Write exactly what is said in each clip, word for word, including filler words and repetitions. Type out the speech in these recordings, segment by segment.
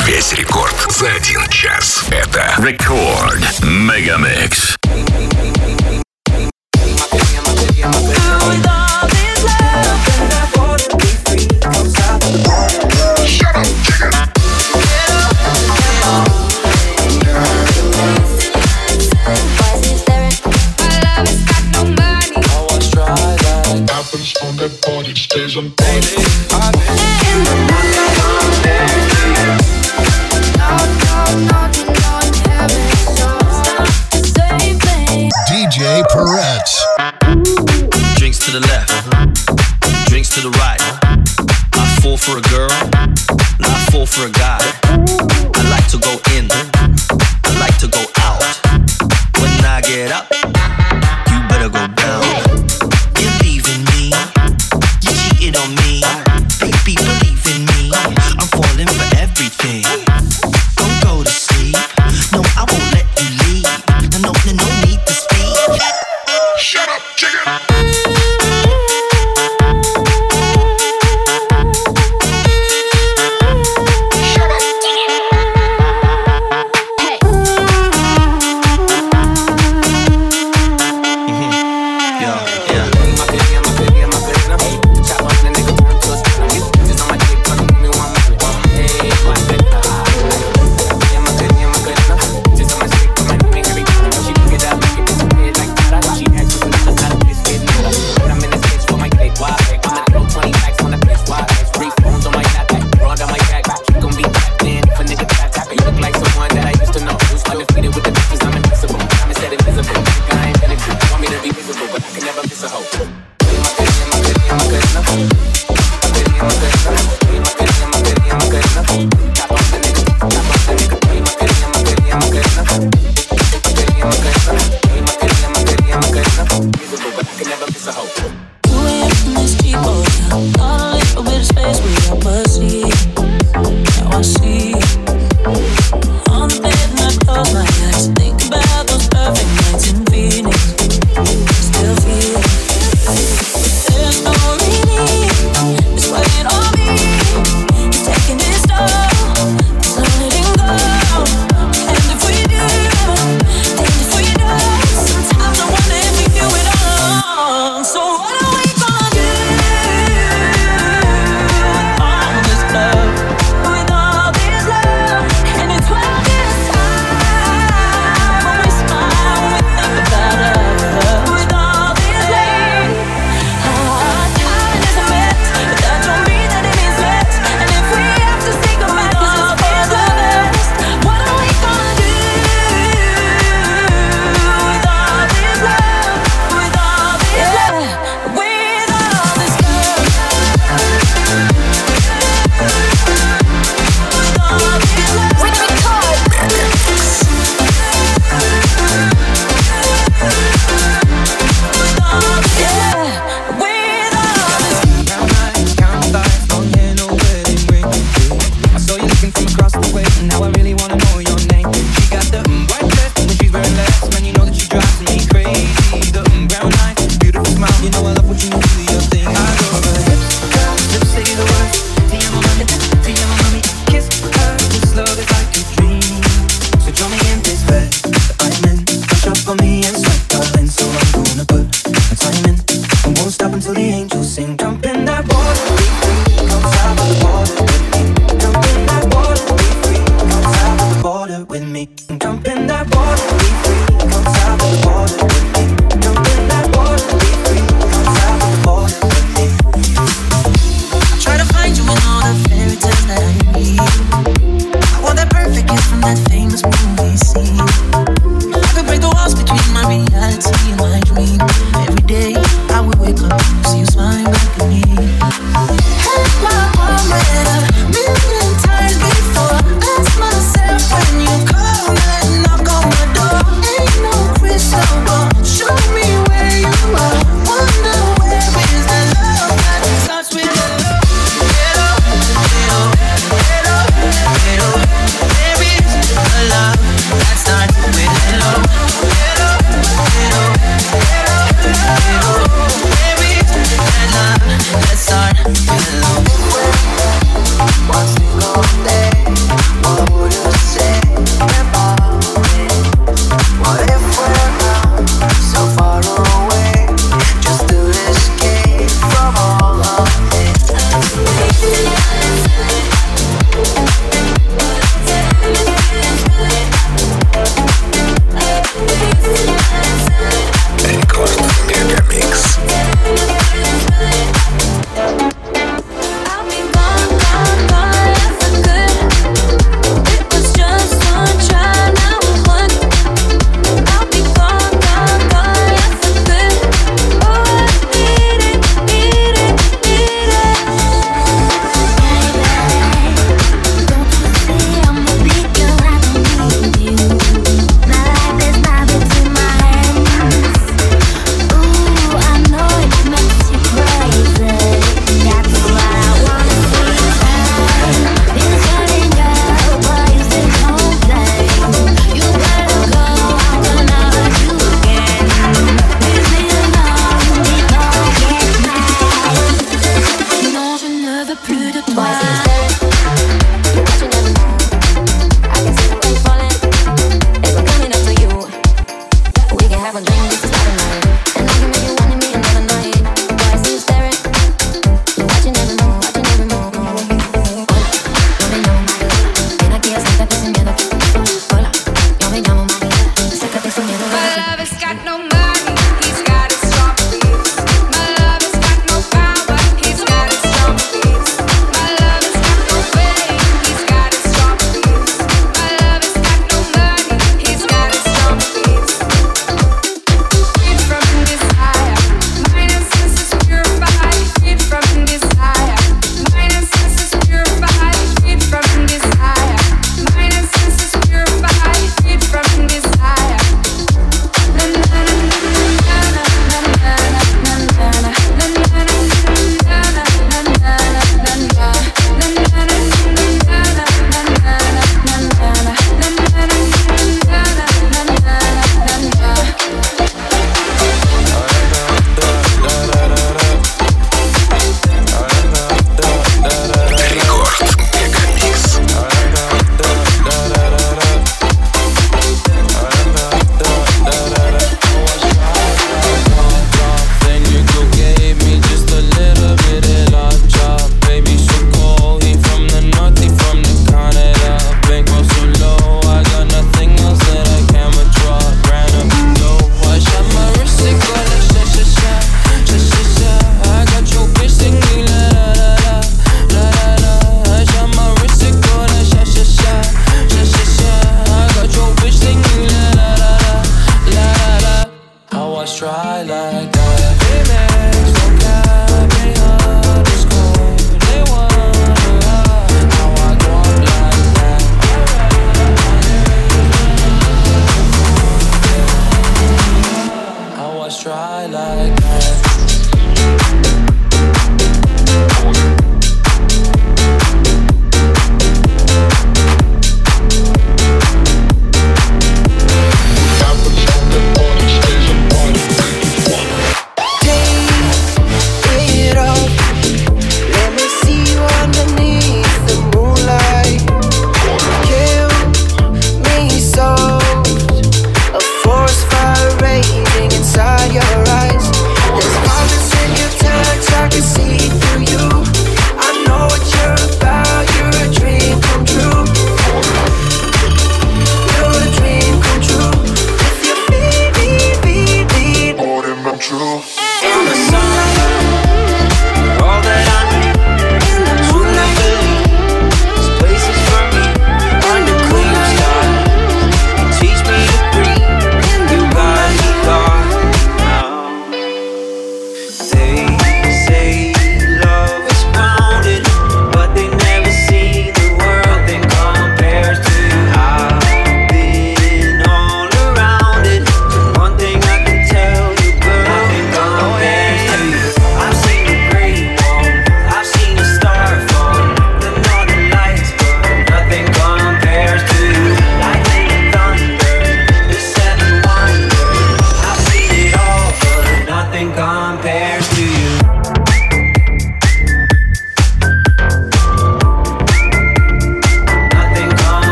Весь рекорд за один час. Это Рекорд Мегамикс. On that party stays on party. D J Peretz. Drinks to the left, drinks to the right. I fall for a girl, and I fall for a guy. I like to go in, I like to go out. When I get up, you better go down. You're leaving me, you cheated on me. Baby, believe in me, I'm falling for everything. Don't go to sleep, no, I won't let you leave. No, no, no need to speak. Shut up, chicken. Shut up.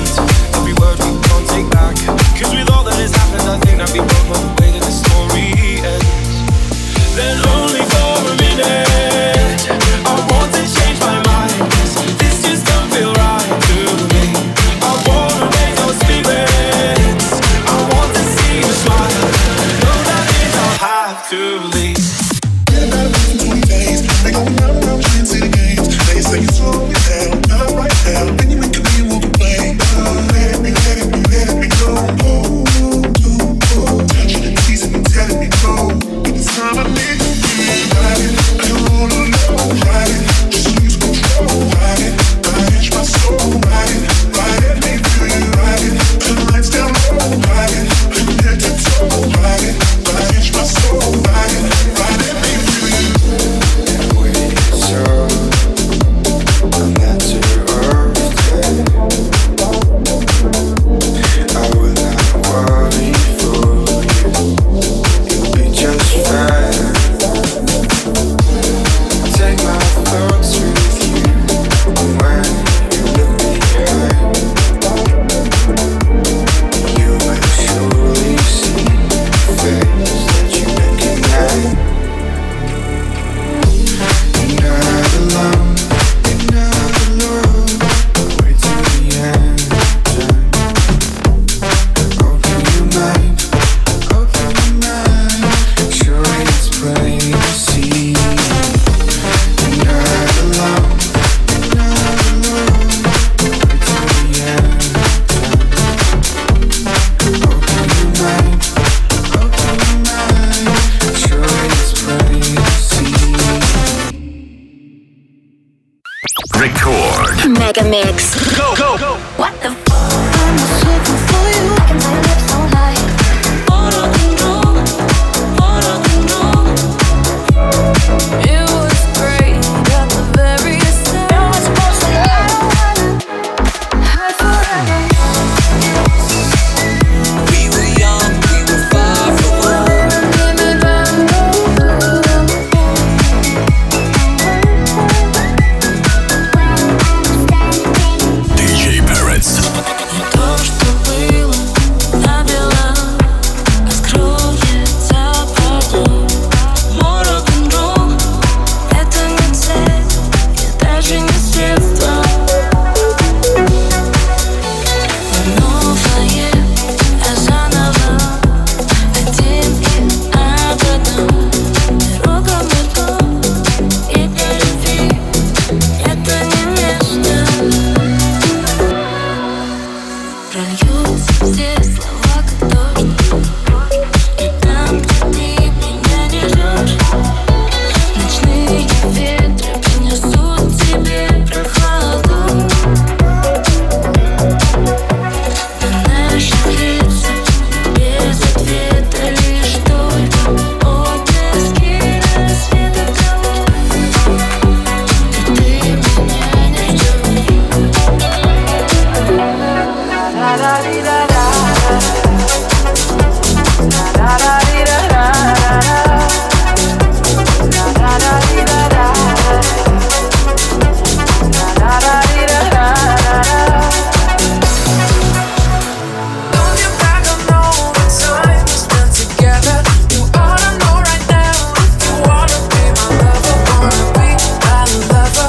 ends. Every word we can't take back. Cause with all that has happened, I think that we both know the way that the story ends. Then only for a minute, I want to change my mind. This just don't feel right to me. I wanna raise your spirits. I want to see you smile. Know that means I'll have to leave. They go round and round playing city games. They say you slow me down, not right now. Then you make a me walk away. Let me, let me, let me go. Oh, oh, oh. Touching and teasing and telling me go. It's time I need to be riding. I don't wanna know riding. Just lose control riding. I itch my soul riding. Riding, me feel you riding. The lights down low riding. I'm head to toe riding. I itch my soul riding. Riding, me feel you. Mega Mix. Go, go, go. What the f? I'm searching for you. I can my lips so high. Wanna control, wanna control. It was great at the very start. It was supposed to last forever. We were young, we were far from home. ди джей Parrots. То, что было, набело, раскроется потом. Мой рок-н-ролл — это не цель, и даже не средство. Новое, а заново, один и об одном. Дорога метро, и для любви это не место. Прольются все слова, как дождь. И там, где ты меня не ждешь, ночные ветры принесут тебе прохладу. На наших лицах без ответа лишь только отблески рассвета кого. Ты меня не ждешь.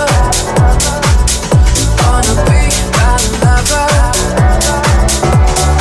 Wanna be my lover.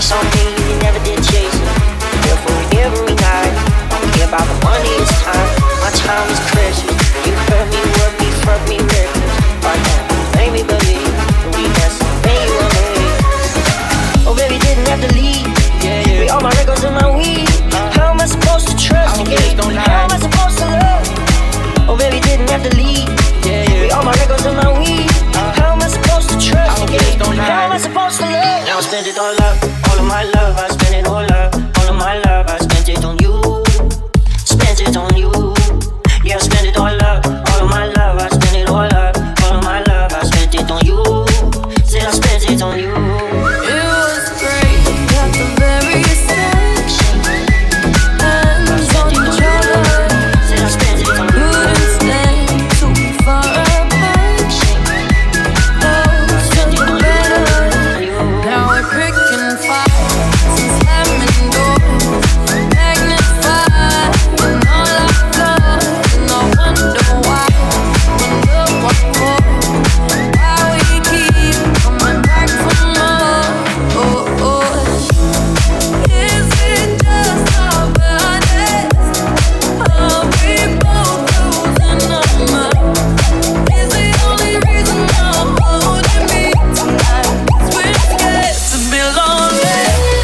something you never did chase it. Therefore every night, I don't care about the money, it's time. My time is precious. You hurt me, work me, fuck me, reckless. Right now, make me believe we got something you want me. Oh baby, didn't have to leave. Yeah, yeah. With all my records and my weed. How am I supposed to trust again? How am I supposed to love? Oh baby, didn't have to leave. Yeah, yeah. With all my records and my weed. How am I supposed to trust again? How am I supposed to love? Now I spent it all up, all of my love. I spent it all up, all of my love. I spent it on you, spent it on you. Yeah, I spent it all up, all of my love. I spent it all up, all of my love. I spent it on you. Said I spent it on you. It was great at the very start. Hands on each other. Said I spent it on you. Couldn't stand too far apart. Oh, something better. Now we're picking fights and slamming doors, magnified in all our flaws. And I wonder why, wonder what for, why we keep coming back for more. Oh, oh. Is it just our bodies? Are we both losing our minds? Is the only reason I'm holding me tonight? 'Cause we're scared to be lonely.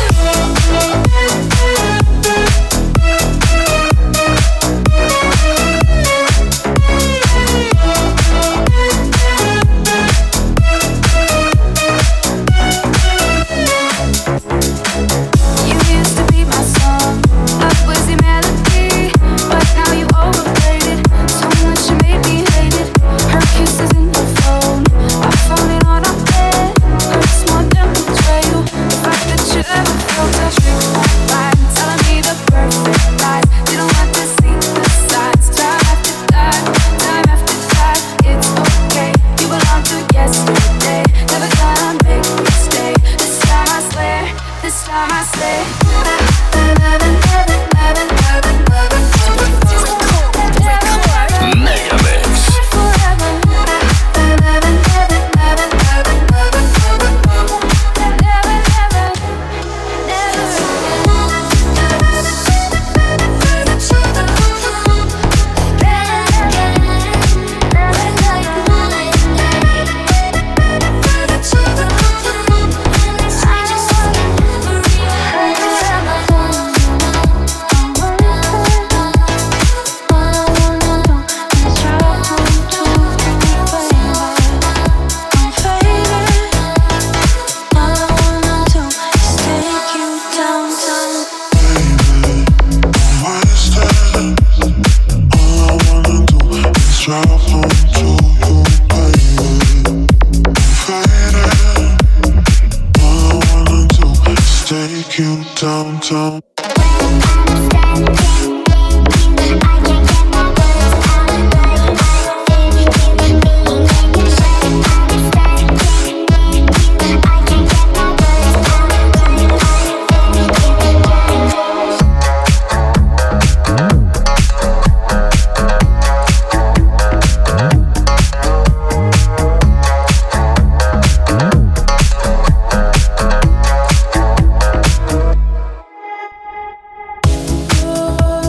You used to be my song, a fuzzy melody, but now you overplayed it so much you made me hate it. Her kisses in the phone, I found it on our bed. Hurts more than betrayal. The fact that you ever felt a trick on mine, telling me the perfect lies. Didn't want to see the signs. Time after time, time after time. It's okay. You belong to yesterday. Never gonna make me stay. This time I swear. This time I say. Megamix. Take you downtown. Oh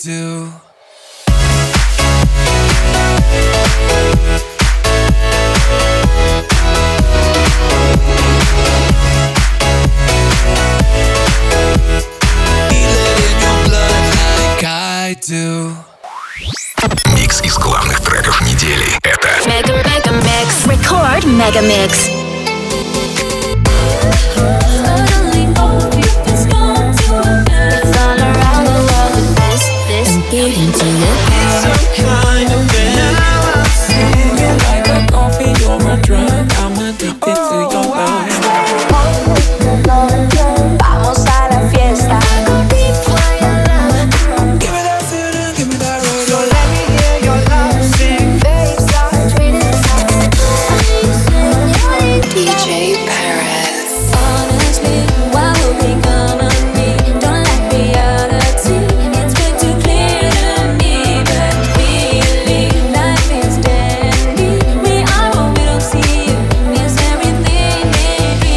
do. Микс из главных треков недели. Это Mega Mega Mix. Record Mega Mix. It's all around the world with this, this, get into your It's some kind of man. Now I'm singing like a coffee or a drug. I'm addicted to your love. Vamos a la fiesta. D J Perez. Honestly, why would we come on me? Don't let reality. It's been too clear to me, but really, life is dandy. We are what we don't see. Means everything, maybe.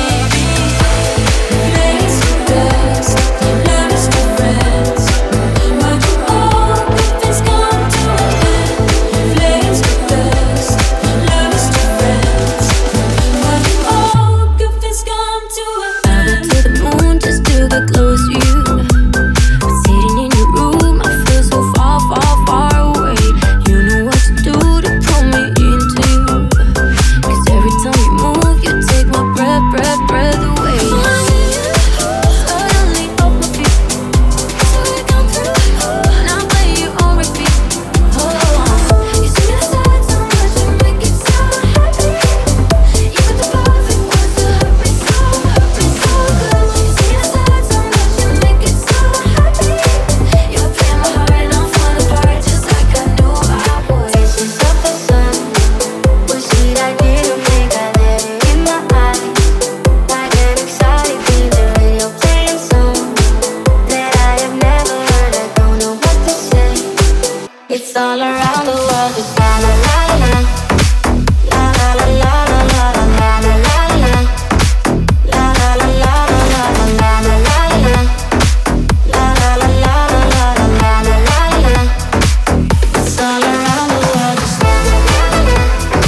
Place to dust, love is to friends. But you all good things come to an end. Place to dust, love is to friends. But you all good things come to an end. To the moon just to get close to you. But sitting in your room, I feel so far, far, far away. You know what to do to pull me into you. 'Cause every time you move, you take my breath, breath, breath away. Suddenly off my feet, so we come through. Now play you on repeat. Oh, you see the side so much, you make it so happy. You got the perfect words to hurt me so, hurt me so good. You see the side so much, you make it so happy. You were playing my heart and I'm falling apart just like I knew I would. Visions of the sun, was sweet, I didn't think I'd let it in my eyes. I get excited, keep the radio playing songs that I have never heard. I don't know what to say. It's all around the world. It's la la la la, la la la la la la la la la la, la la la la la la la la la la, la la la la la la la la la. It's all around the world. It's la la la la.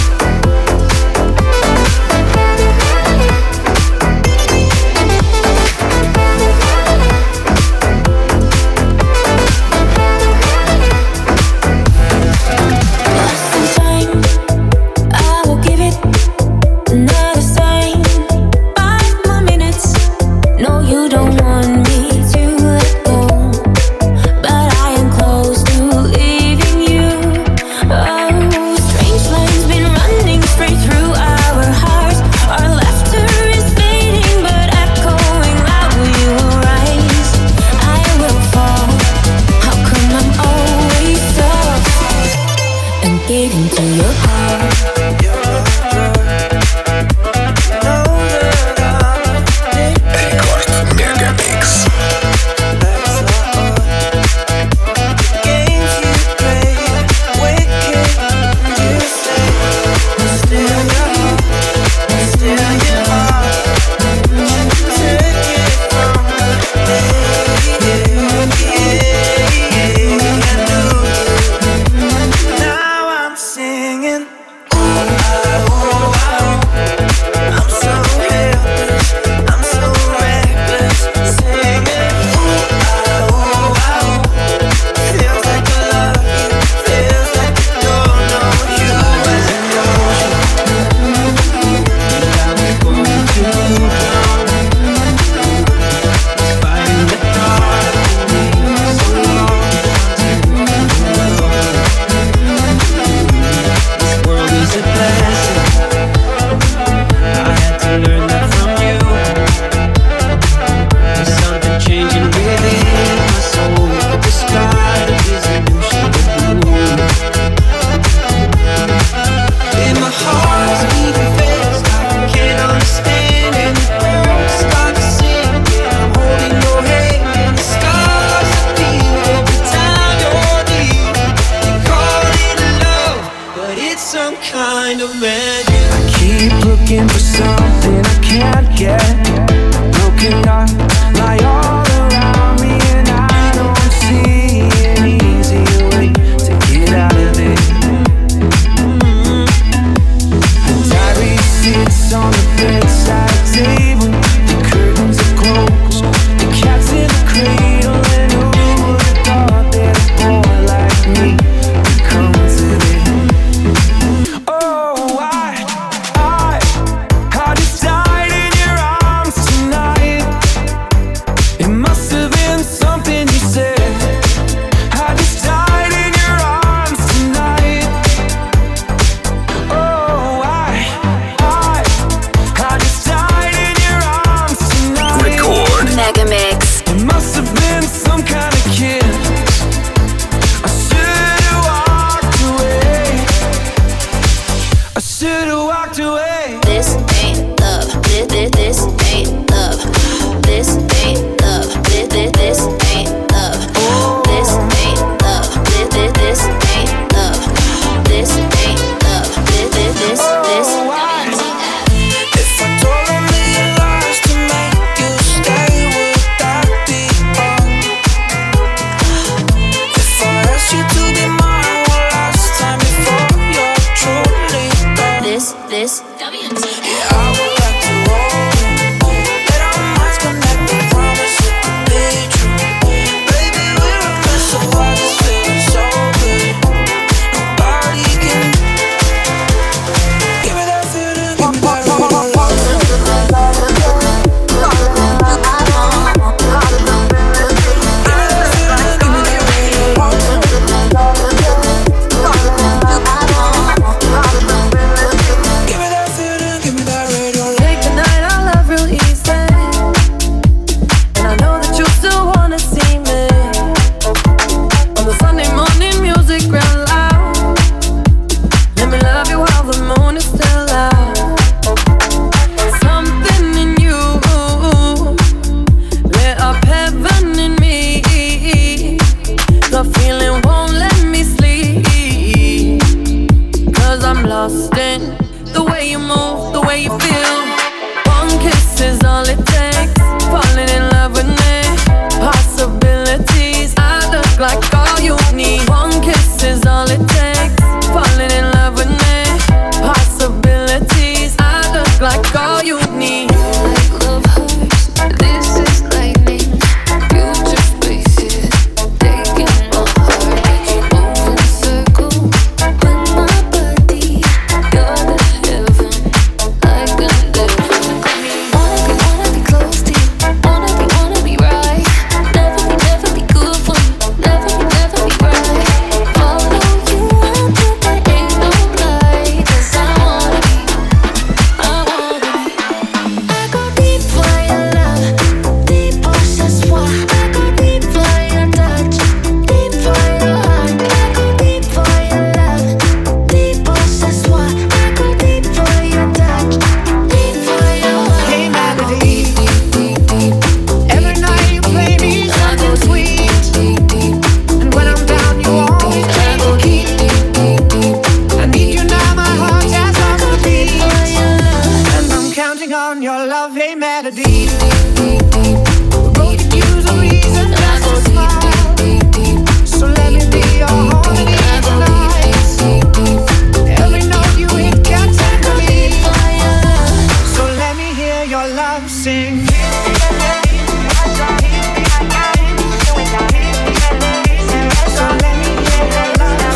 Lost in time, I will give it another sign. Five more minutes. No, you don't want me to let go, but I am close to leaving you. Oh, strange lines been running straight through our hearts. Our laughter is fading, but echoing loud. Will you rise? I will fall. How come I'm always so and get into your heart? Рекорд Мегамикс. Now I'm singing. Ooh, ah, ooh, ah. I'm so helpless. I'm so reckless. Singing. Ooh, ah, ooh, ah. Feels like I love you. Feels like I don't know you. As an ocean. Now we're going to drown. Fighting the dark. So long. This world is a blessing. I had to learn that from you. There's something changing within my soul. The sky is a new shade of blue. And my heart's beating fast. I can't understand. And the birds start to sing. And I'm holding your hand. And the stars appear every time you're near. They call it love, but it's some kind of magic. I keep looking for something I can't get. Broken hearts lie all around me, and I don't see any like all you need. One kiss is all it takes. Falling in love with me. Possibilities. I look like all you need. Like love hurts. This is lightning. Future spaces. Taking my heart. Move in circle. With my body. You're the heaven. Like a living. Wanna be, wanna be close to you. Wanna be, wanna be right. Never be, never be good for you. Never be, never be right. Follow you until there ain't no light. 'Cause I wanna be, I wanna be. I go deep for your love. Deep pour ce soir. I go deep for your touch. Deep for your heart. I go deep for your love. Deep pour ce soir. I go deep for your touch. Deep for your heart. Hey, melody. Deep, deep, deep, deep. Every night you play me something sweet, Deep, deep, and when I'm down you always I go deep, deep, deep, deep. I need you now, my heart has on the beat, For your love. and I'm counting on your love. Hey, melody. Deep, deep, deep. Both could use a reason I just go to deep, smile, deep, deep, deep. so let me be your harmony I go tonight. deep, deep, deep. Every note you hit gets into me, For your love. so let me hear your love sing. So let me hear your love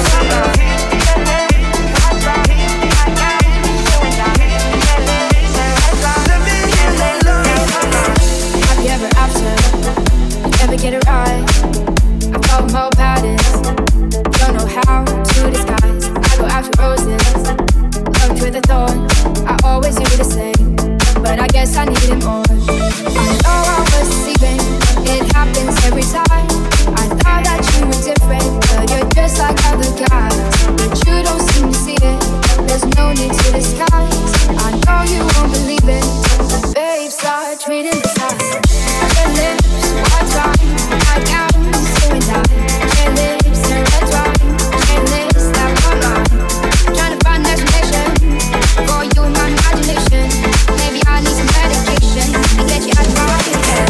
Have you ever after? Never get it right. I follow my patterns. Don't know how to disguise. I go after roses, loved with a thorn. I always do the same, but I guess I needed more. I know I was deceiving. It happens every time. I thought that you were different, but you're just like other guys. But you don't seem to see it. There's no need to disguise. I know you won't believe it, but babe, start treating this house. Your lips, white wine, I got so and I. Your lips, red wine, your lips, that one line. Trying to find an explanation for you and my imagination. Maybe I need some medication to get you out of my head.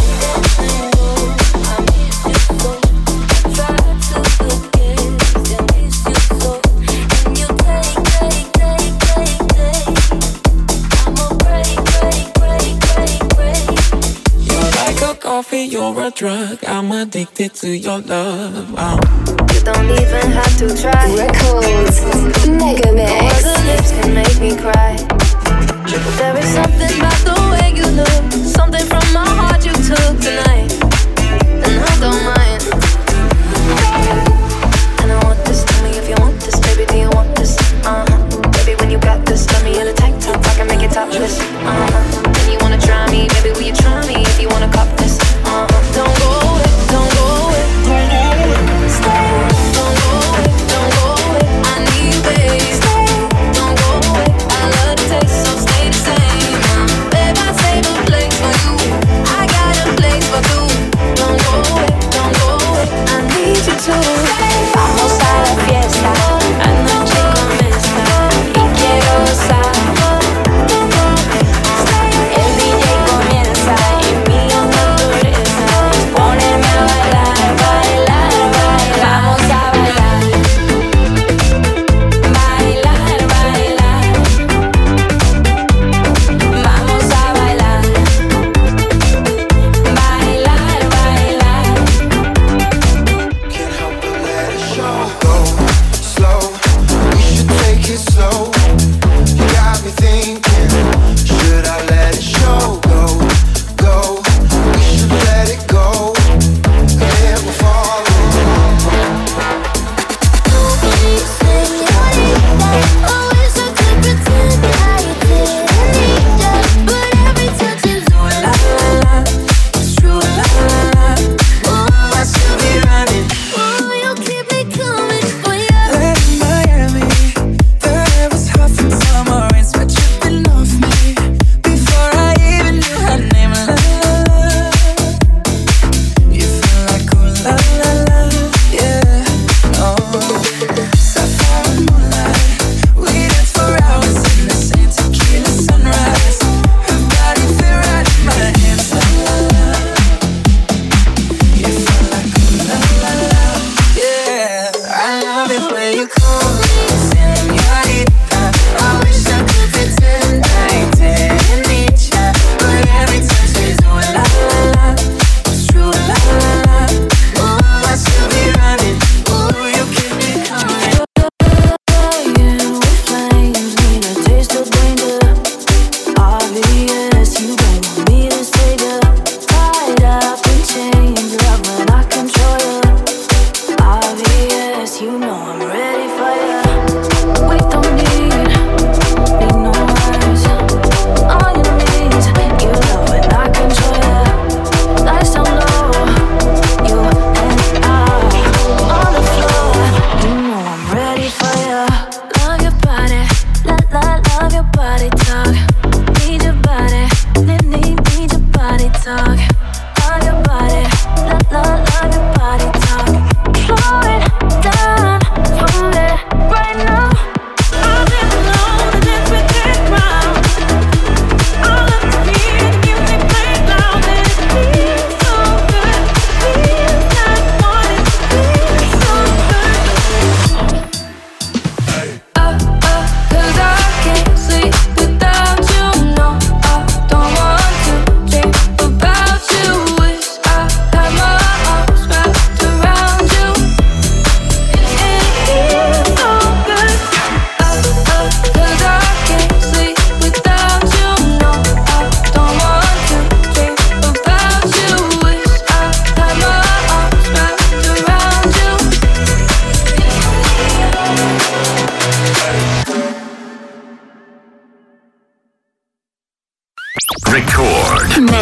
Coffee, you're a drug. I'm addicted to your love. Oh. You don't even have to try. Records Mega Your Mix. other lips can make me cry. But there is something about the way you look, something from my heart you took tonight, and I don't mind. And I want this. Tell me if you want this, baby. Do you want this? Uh huh. Baby, when you got this, let me in a tank top. I can make it topless. Uh huh. And you wanna try me, baby? Will you try me if you wanna cop this? Uh huh. Don't go away, don't go away, don't go away. Stay. Don't go away, don't go away. I need you, baby. Stay. Don't go away. I love the taste, so stay the same. Uh, babe, I save a place for you. I got a place for two. Don't go away, don't go away. I need you to stay. Vamos a la fiesta. Anoche comienza y quiero gozar. El D J comienza y mi naturaleza es ponerme a bailar, bailar, bailar. Vamos a bailar, bailar, bailar. Vamos a bailar, bailar, bailar. Can't help but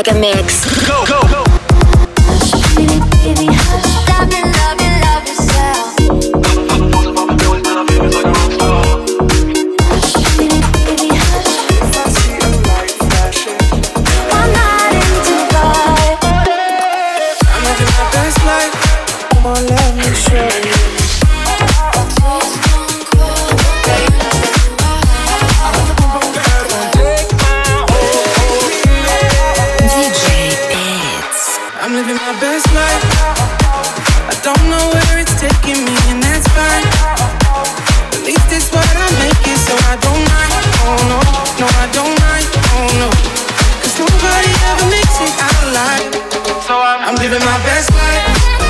Mega Mix. Go, go, go. Baby, baby, hush. Love me, love me, love yourself. Hush, baby, baby, hush. If I see a light flashing, I'm not into vibe. I'm living my best life. Come on, let me show you. I'm living my best life. I don't know where it's taking me, and that's fine. At least it's what I make it, so I don't mind. Oh no, no, I don't mind. Oh no, 'cause nobody ever makes it out alive. So I'm, I'm living my best life.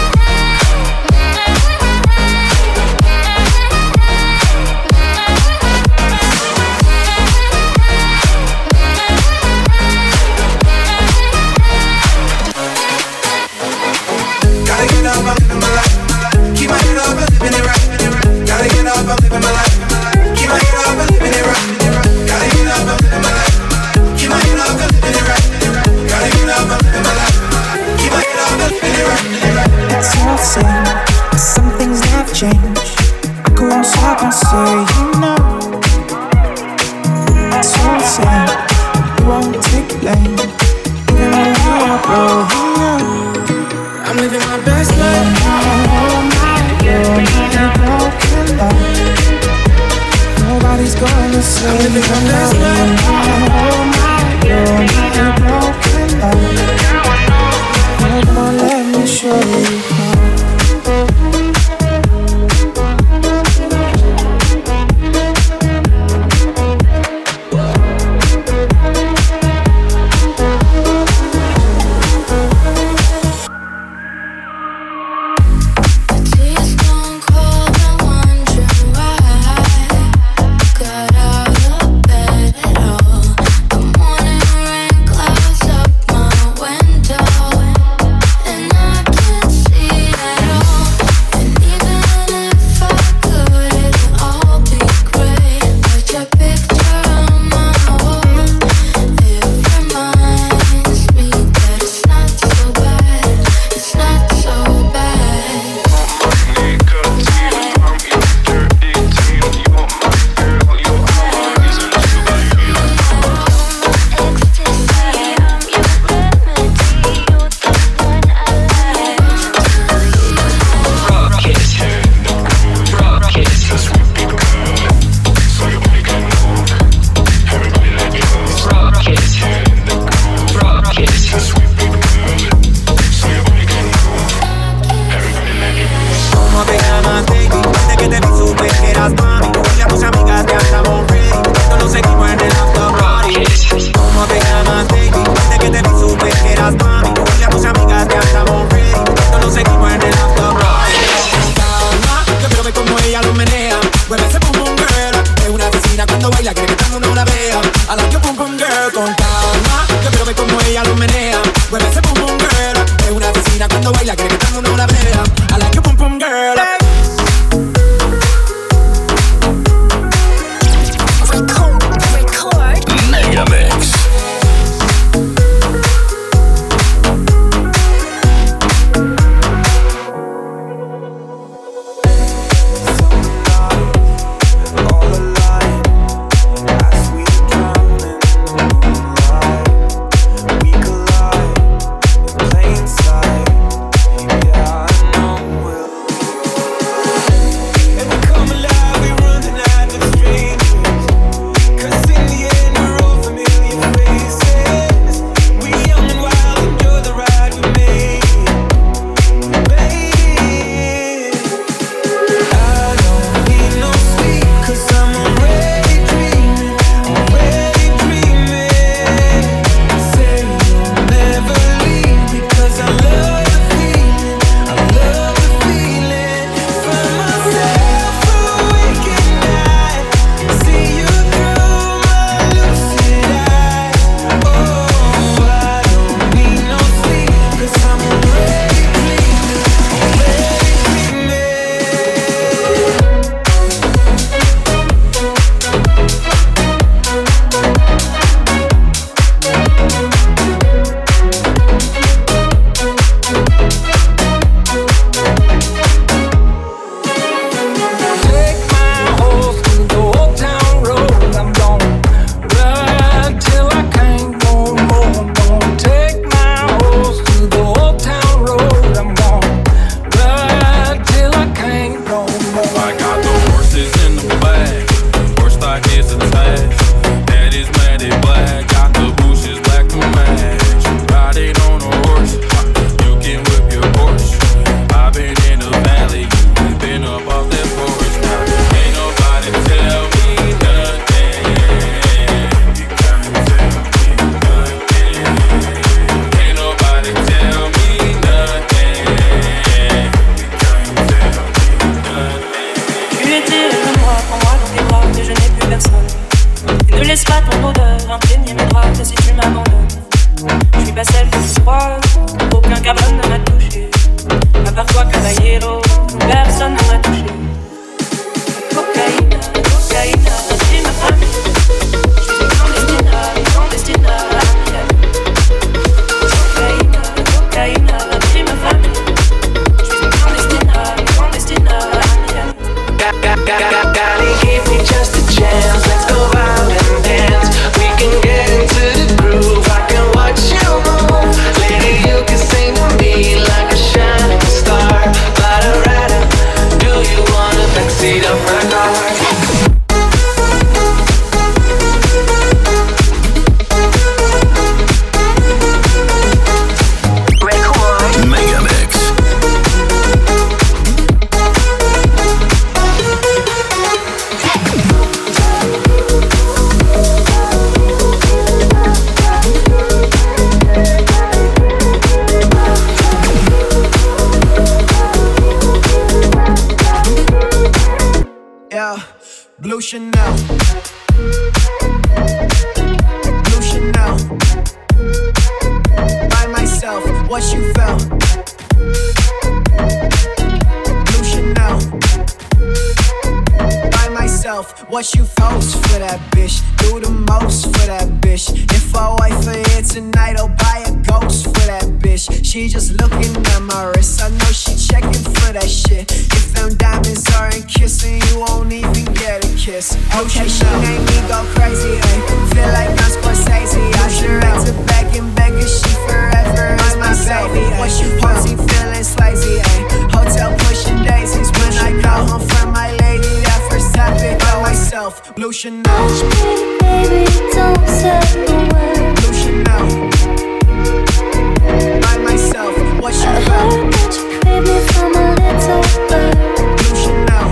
gotta get up, I'm living my life. Keep my head up, I'm living it right. Gotta get up, I'm living my life. Keep my head up, I'm living it right. Gotta get up, I'm living my life. Keep my head up, I'm living it right. Gotta get up, I'm living my life. Keep my head up, I'm living it right. It's all the same. Some things have changed. I go on top and say, you know. It's all the same. You won't take blame. Even when you are broke, you know. I'm living my best life. Broken love. Nobody's gonna say I'm living my best life. Broken love. Come on, let me show you. We collide in plain sight. Yeah, I know we'll Tu étais comme moi, prends-moi dans tes bras, mais je n'ai plus personne. Et ne laisse pas ton odeur imprégner mes draps si tu m'abandonnes. Je suis pas celle que tu crois, aucun cabane ne m'a touché. À part toi, caballero, personne ne m'a touché. Cocaïna, cocaïna, c'est ma femme. Je suis une clandestina, une clandestina. Cocaïna, cocaïna, c'est ma femme. Je suis une clandestina, une clandestina. Golly, give me just a chance. Let's go out and dance. We can get into the groove. I can watch you move. Lady, you can sing to me like a shining star. Rada, rada, do you wanna backseat of my car? Blue Chanel, Blue Chanel. By myself, what you felt? Blue Chanel. By myself, what you felt for that bitch? Do the most for that bitch. If I wait for here tonight, I'll buy a ghost for that bitch. She just looking at my wrist, I know she checking for that shit. If them diamonds aren't kissing, you won't even get a kiss. Okay, she made me go crazy, ayy. Feel like I'm Scorsese. I should write to back and back, cause she forever is my baby. What you posting, feeling slazy, ayy. Hotel pushing daisies when I go home from my lady. That first topic by myself, Blue Chanel. Hush, baby, don't say a word. Blue Chanel. By myself, what you I felt? heard that you crave me from a little bird. Blue Chanel.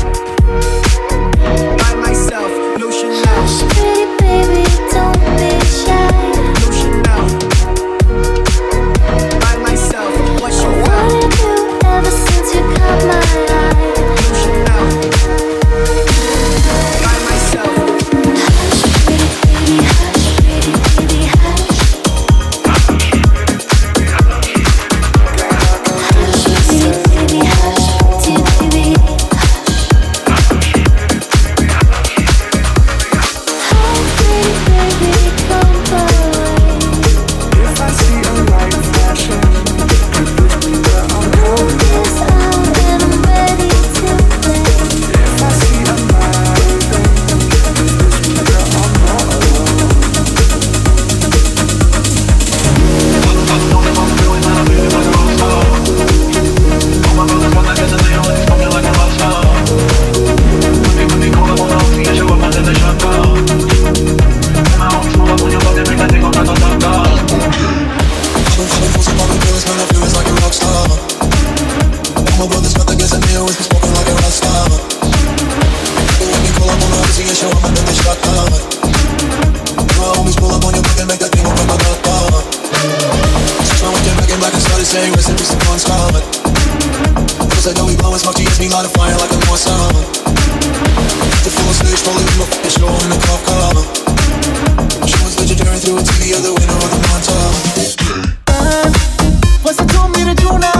By myself, Blue Chanel. Hush, pretty baby, don't be shy. Blue Chanel. By myself, what you I felt? wanted you ever since you caught my eye. Blue Chanel. By myself. Hush, pretty baby, hush, pretty baby, hush. Hush, pretty baby, hush, pretty baby, hush. Pretty baby, come away. If I see a light flashing, you push me where I'm going. This out and I'm ready to play. If I see a light, you push me where I'm not alone. Saying recipes to one's common. Cause I know we blowing smoke, she hits me light a fire like a more summer. The full stage, probably with my fucking show in the cop car. She was legendary through a T V, other window of the montage. Você tu mira de una